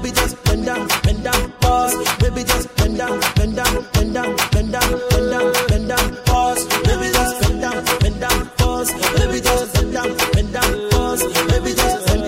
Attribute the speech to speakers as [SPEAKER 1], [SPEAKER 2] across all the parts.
[SPEAKER 1] baby just bend down, pause. Baby just bend down, bend down, bend down, bend down, bend down, bend down, pause. Baby just bend down, pause. Baby just bend down, pause. Baby just bend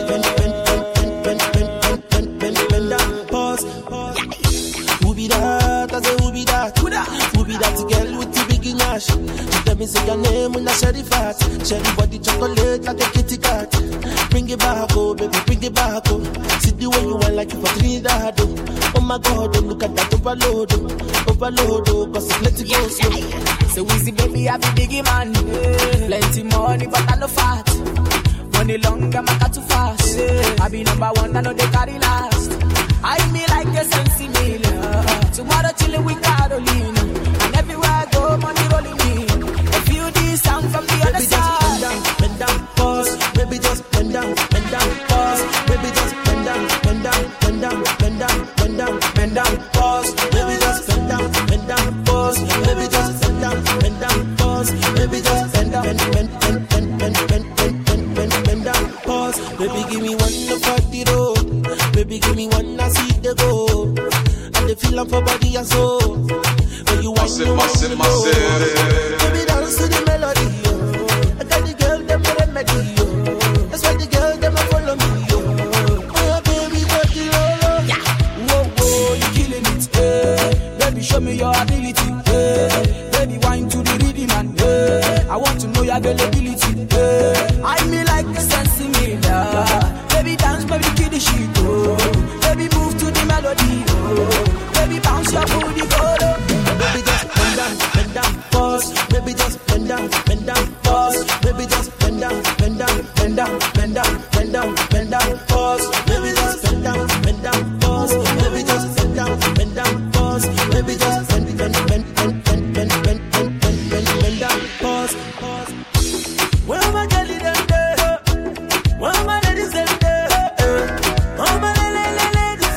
[SPEAKER 1] down, pause. Who be that? I say who be that? Who be that girl with the big nash? She tell me say your name when I share the fat. Share the body chocolate like a kitty cat. Bring it back, oh baby, bring it back, oh. See the way you want like you for Trinidad, oh. Oh my God, oh, look at that overload, oh, cause it's let it go slow.
[SPEAKER 2] So easy, baby, I be biggie man. Plenty money, but I no fat. Money long, I'm not too fast. I be number one, I know they carry last. I me like a sensi meal. Tomorrow chillin' with Carolina. And everywhere I go, money rolling in. A few D's sound from the other side.
[SPEAKER 1] Bend down, pause. Baby, just bend down, pause. Baby, just bend down, pause. Baby, just bend down, pause. Baby, just bend down, pause. Baby, just bend down, pause. Baby, give me one to fuck the road. Baby, give me one to see the go. And the feeling for body and soul. When you want to baby, dance to the melody. I got the girl, them for remedy. That's why the girl, them follow me. Oh, baby, got the lolo.
[SPEAKER 2] Whoa, you killing it. Baby, show me your ability. Baby, wine to the rhythm and I want to know your availability. I me like a sensi miller. Baby, dance, baby, kill the shit. Baby, move to the melody. Baby, bounce your booty, go.
[SPEAKER 1] Baby, just bend down, pause. Baby, just bend down, pause. Baby, just bend down, pause. Baby, just bend down, pause. Baby, just bend down, pause. Baby, just bend down, pause. Where my girlie them there? Where my ladies them there? Oh my ladies,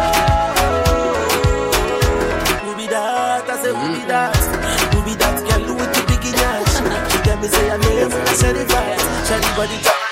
[SPEAKER 1] who be that? I say who be that? Who be that girl with the big ass? She tell me say her name, I said it right. Shall the body talk?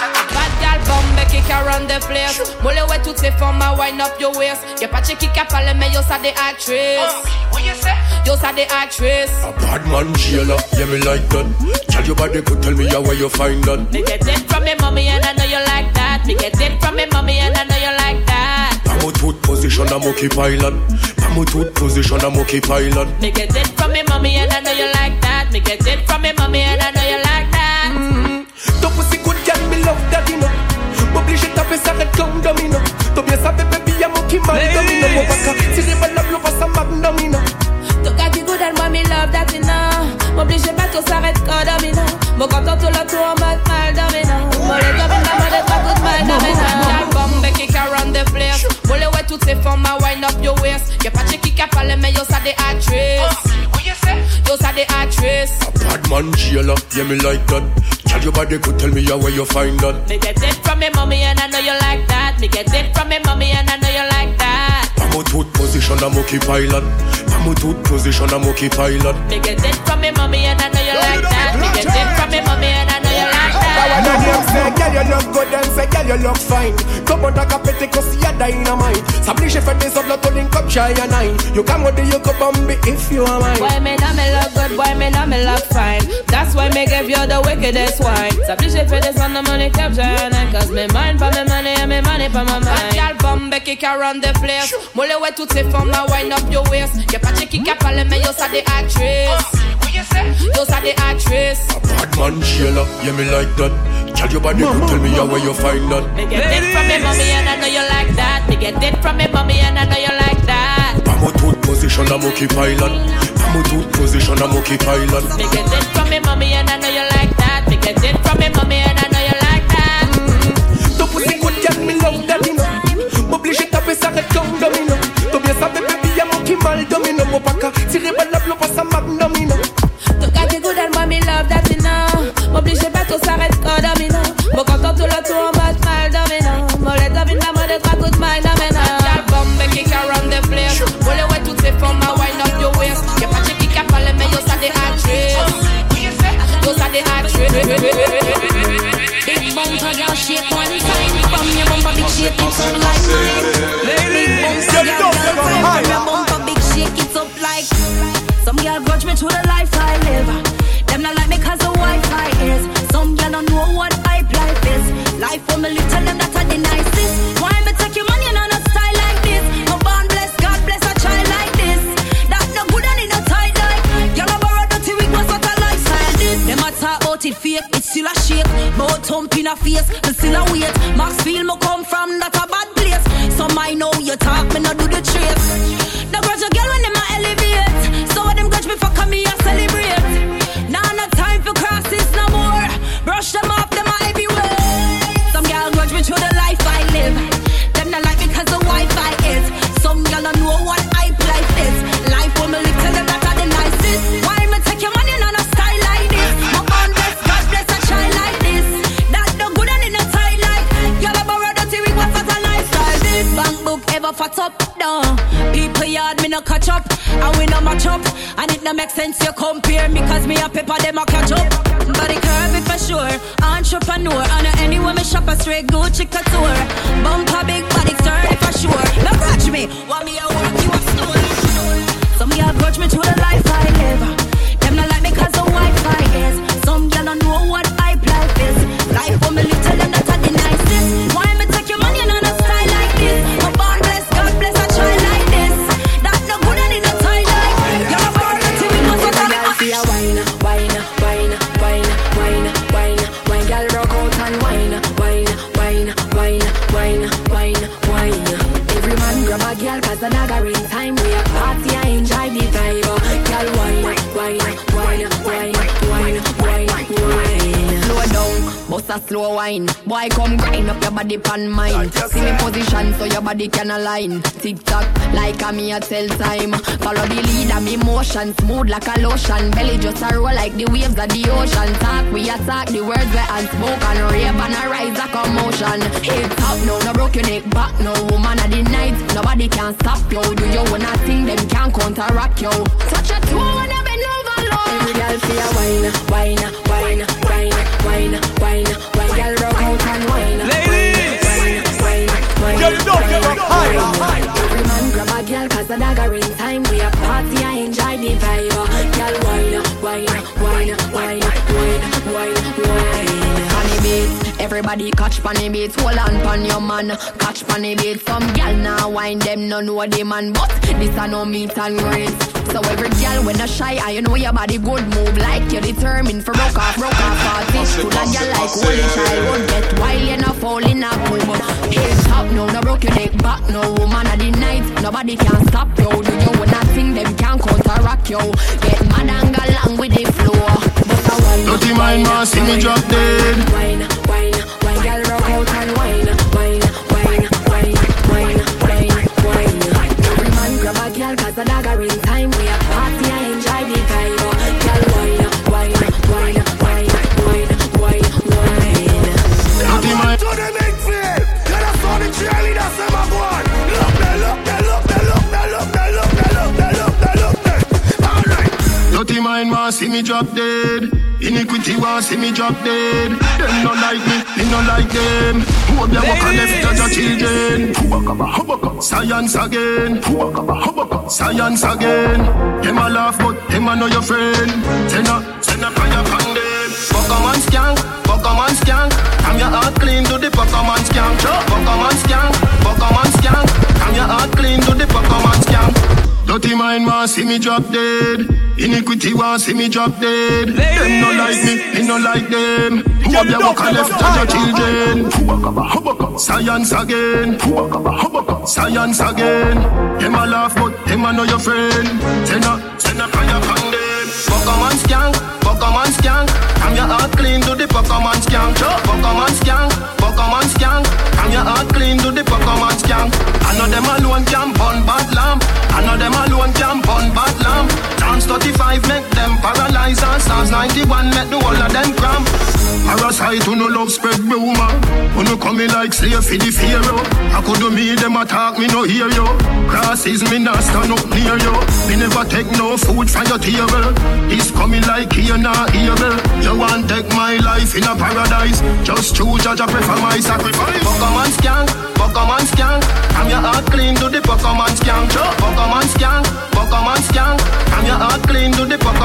[SPEAKER 3] Kick around the place. Mole ouais toutes ces formes, wind up your waist. Y'a pas de qui a parlé, mais yo ça des actrices. What you say? Yo ça des actrices.
[SPEAKER 4] A bad man, Sheila, yeah me like that. Tell your body could tell me where you find that.
[SPEAKER 3] Me get it from me mommy and I know you like that. Me get it from me mommy and I know you like that.
[SPEAKER 4] Pamo tooth position, I'm okay pilot. Pamo tooth position, I'm okay pilot.
[SPEAKER 3] Me get it from me mommy and I know you like that. Me get it from me mommy and I know you like that.
[SPEAKER 4] Ton pussy good girl, me love that, you know. Obligé de taper ça red comme domino. T'as bien savais baby y'a mon qui mal domino. Mon baka, tirez ma love, l'on passe à magnomino.
[SPEAKER 3] Ton gars qui good and moi me love that you know. M'oblige pas tout s'arrête comme domino. Mon content tout le tour en mode mal domino. Mon les domino, mon les pas tout mal domino. L'album de kick around the place. Mole ouais toutes ces formes, wind up your waist. Y'a pas de qui a parlé mais yo ça des actrices. Yo ça des actrices.
[SPEAKER 4] A bad man, Sheila, yeah me like that. Tell your body could tell me where you find that.
[SPEAKER 3] Me get it from me mommy and I know you like that. Me get it from me mommy and I know you like that.
[SPEAKER 4] Pamo tooth position, I'm okay pilot. Pamo tooth position, I'm okay pilot.
[SPEAKER 3] Me get it from me mommy and I know you like that. Me get it from me mommy and I know you like that.
[SPEAKER 4] Say, girl, you look good and say, girl, you look fine. Come on, like a petty, cause you're dynamite. S'oblige fait des autres, l'autre link up, shy and nine. You come with the you come on me if you are mine.
[SPEAKER 3] Boy, me know me look good, boy, me know me look fine. That's why me give you the wickedest wine. S'oblige fait des autres, money cap, shy and nine. Cause me mind for me money and me money for my mind. Y'all bombe kick around the place. Mole ouais toutes ces formes, wind up your waist. Y'a pas de qui a parlé, mais yo ça des actrices. Yo ça des actrices.
[SPEAKER 4] A bad man, Sheila, yeah me like that. Tell your body could tell me where you find that.
[SPEAKER 3] Me get it from me mommy and I know you like that. Me get it from me mommy and I know you like that.
[SPEAKER 4] Pamo tooth position, I'm okay pilot. Pamo tooth position, I'm okay pilot.
[SPEAKER 3] Me get it from me mommy and I know you like that. Me get it from me mommy and I know you like that.
[SPEAKER 4] Ton pussy good girl, me love that, you know. M'oblige de taper ça red comme domino. T'as bien savais baby y'a mon qui mal domino. Mon baka, tirez ma love, l'on passe à magnomino.
[SPEAKER 3] Ton gars qui good and moi me love that, you know. M'oblige pas tout s'arrête comme domino. Mon content tout le tour en mode mal domino. Mon les domino, mon les trois coups de mal domino. L'album me kick around the place. Mole ouais toutes ces formes, wind up your waist. Y'a pas de qui a parlé mais yo ça des actrices. Yo ça des actrices.
[SPEAKER 5] Big bumper girl shake one time. From your bumper big shake it from like mine.
[SPEAKER 2] grudge me to the life I live. Them not like me cause the Wi-Fi is. Some girl don't know what hype life is. Life for me little them that are the nicest. Why me take your money and on a style like this? No born bless, God bless a child like this. That no good and it no tight like. Y'all a borrow dirty wig, what's what a lifestyle this? Them a talk about it fake, it's still a shake. Bout thump in a face, me still a wait. Maxfield me come from, that a bad place. Some I know you talk, me no do the trace. No grudge a girl when them a elevate. So what them grudge me for come me a celebrate. Now no time for crosses no more. Brush them off, them a heavyweight. Some girl grudge me through the life I live. Them not like me cause the Wi-Fi is. Some girl don't know what hype life is. Life for me little them that are the nicest. Why me take your money on a style like this? My own bless, God bless a child like this. That no good and in a tight like. Y'all a borrow dirty wig, what's that a lifestyle this? Bank book ever fat up, no. People yard me no catch up. And we no match up. And it no make sense you compare me cause me a pepper them a catch up. Body curvy for sure, entrepreneur. And anywhere me shop a straight Gucci couture. Bumper big body sturdy for sure. No grudge me, want me a work you a store. Some girl grudge me to the life I live. Them not like me cause the Wi-Fi is. Some girl don't know what hype life is. Life for me little them that are the nicest. Why me take your money and on a style like this? My born bless, God bless a child like this. That no good and in a tie like. You're a born to me, must have a
[SPEAKER 5] wine, wine, wine, wine, wine, wine, wine, girl rock out and wine, wine, wine, wine, wine, wine, wine. Every man grab a girl cause the dagger in time. We a party, I enjoy the vibe. Girl wine, wine, wine, wine, wine, wine, wine. Slow down, bust a slow wine. Boy come grind up your body pan mine. See me position so your body can align. Tick tock like a me a tell time. Follow the lead of me motion, smooth like a lotion. Belly just a roll like the waves of the ocean. Talk, we attack the words where unspoken. Rave and a rise a commotion. Hip top, no, no broke your neck back. No woman of the night, nobody can stop you. Do you wanna think them can counteract you? Touch a toe and a bend over low. Every girl see a wine, wine, wine, wine, wine, wine, wine. Girl rock out and wine,
[SPEAKER 6] ladies,
[SPEAKER 5] wine, wine, wine,
[SPEAKER 6] girl, you don't get up higher.
[SPEAKER 5] Every man grab a girl cause the dagger in time. We a party, I enjoy the vibe. Girl wine, wine, wine, wine, wine, wine, wine. Funny beats, everybody catch funny beats. Hold on pon your man, catch funny beats. Some girl now wine them no know the man, but this a no meet and greet. So every girl when a shy, I know your body good move like you're determined for rock off party. To that girl like holy child won't get wild, you no fall in a pool. Head top, no broke your neck back, no woman of the night, nobody can stop you. Do you wanna think them can counteract you? Get mad and go along with the flow.
[SPEAKER 4] Dirty mind man, see me drop dead.
[SPEAKER 5] Wine, wine, wine, girl rock out and wine, wine, wine, wine, wine, wine, wine. Every man grab a girl cause the dagger in time. We a party, I enjoy the vibe. Girl wine, wine, wine, wine, wine, wine, wine.
[SPEAKER 4] Dirty mind
[SPEAKER 6] to the midfield. You're the son of cheerleader, say my boy. Look there, look there, look there, look there, look there, look there, look there, look there, look there. All right.
[SPEAKER 4] dirty mind man, see me drop dead. Iniquity want see me drop dead. Them no like me no like them. Hope you walk and left as a children. Science again. Science again. Them a laugh but them a know your friend. Send a fire from them. Pokemon skank. I'm your heart clean to the Pokemon skank. Pokemon skank. I'm your heart clean to the Pokemon skank. Dirty mind man see me drop dead. Iniquity want see me drop dead. Them no like me no like them. Hope you walk and left as a children. Science again. Science again. Them a laugh but them a know your friend. Send a fire from them. Pokemon skank. I'm your heart clean to the Pokemon skank. Pokemon skank. I'm your heart clean to the Pokemon skank. I know them alone can burn bad lamp. I know them alone can burn bad lamp. Chance 35 make them paralyze and Stars 91 make the whole of them cramp. Parasite who no love spread rumor. Who no come in like slave for the pharaoh. I could do me them attack me no hear you. Crosses me not stand up near you. Me never take no food from your table. This coming like here not evil. You want take my life in a paradise. Just choose judge I prefer my sacrifice. Pokemon skank. I'm your heart clean to the Pokemon skank. Pokemon skank. I'm your heart clean to the Pokemon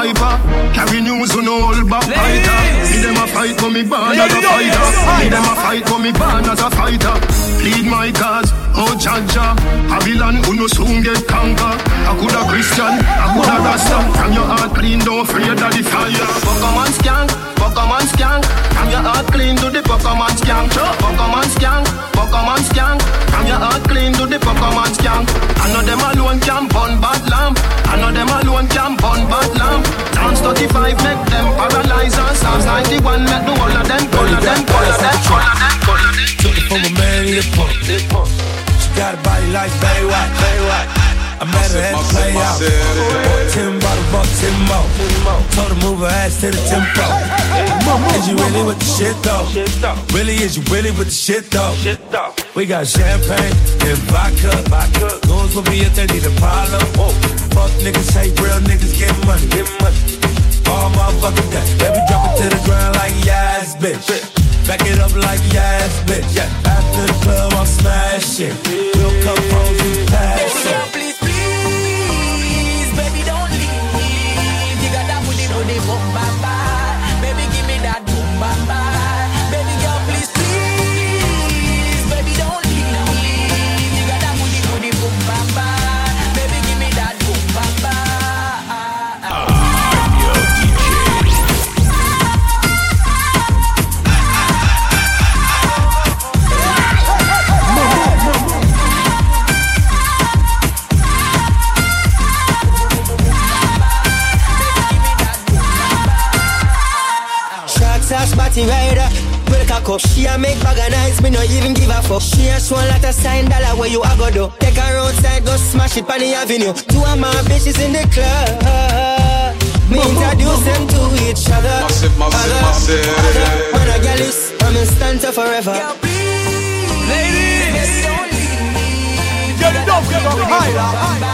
[SPEAKER 4] hyper. Carry news on all back fighter. Me them a fight for me born as a fighter. Me them a fight for me born as a fighter. Plead my cause, oh Jaja. Babylon who no soon get conquer. I coulda Christian, I coulda Rasta. From your heart clean, don't fear of the fire. Pokemon skank, Pokemon skank. From your heart clean to the Pokemon skank. Pokemon skank, Pokemon skank. From your heart clean to the Pokemon skank. I know them alone can burn bad lamp. I know them alone can burn bad lamp. Sounds 35 make them paralyze us. Sounds 91 make the whole of them, all of them, all of them, all of them, all of them.
[SPEAKER 1] Took it from a man in the pump. She got a body like Baywatch. I met her at the play out. 10 bottles, bought 10 more. Told her move her ass to the tempo. Is you really with the shit though? Really, is you really with the shit though? We got champagne and vodka. Goons will be if they need a problem. Fuck niggas, say real niggas get money. All motherfucking day. Baby drop it to the ground like yes, bitch. Back it up like yes, bitch. After the club, I'll smash it. We'll come home and pass it.
[SPEAKER 2] Boom, baba. Baby, give me that boom, baba. Baby girl, please, please. Baby, don't leave. You got that booty, boom, baba. Baby, give me that boom, baba.
[SPEAKER 7] Spotty rider, break a cup. She a make bag of nice, me no even give a fuck. She a show a lot of sign dollar where you a go do. Take her outside, go smash it on the avenue. Two of my bitches in the club. Me introduce them to each other. Massive. When a girl is, I'm in stanza forever.
[SPEAKER 2] Ladies,
[SPEAKER 6] get it up, get up higher.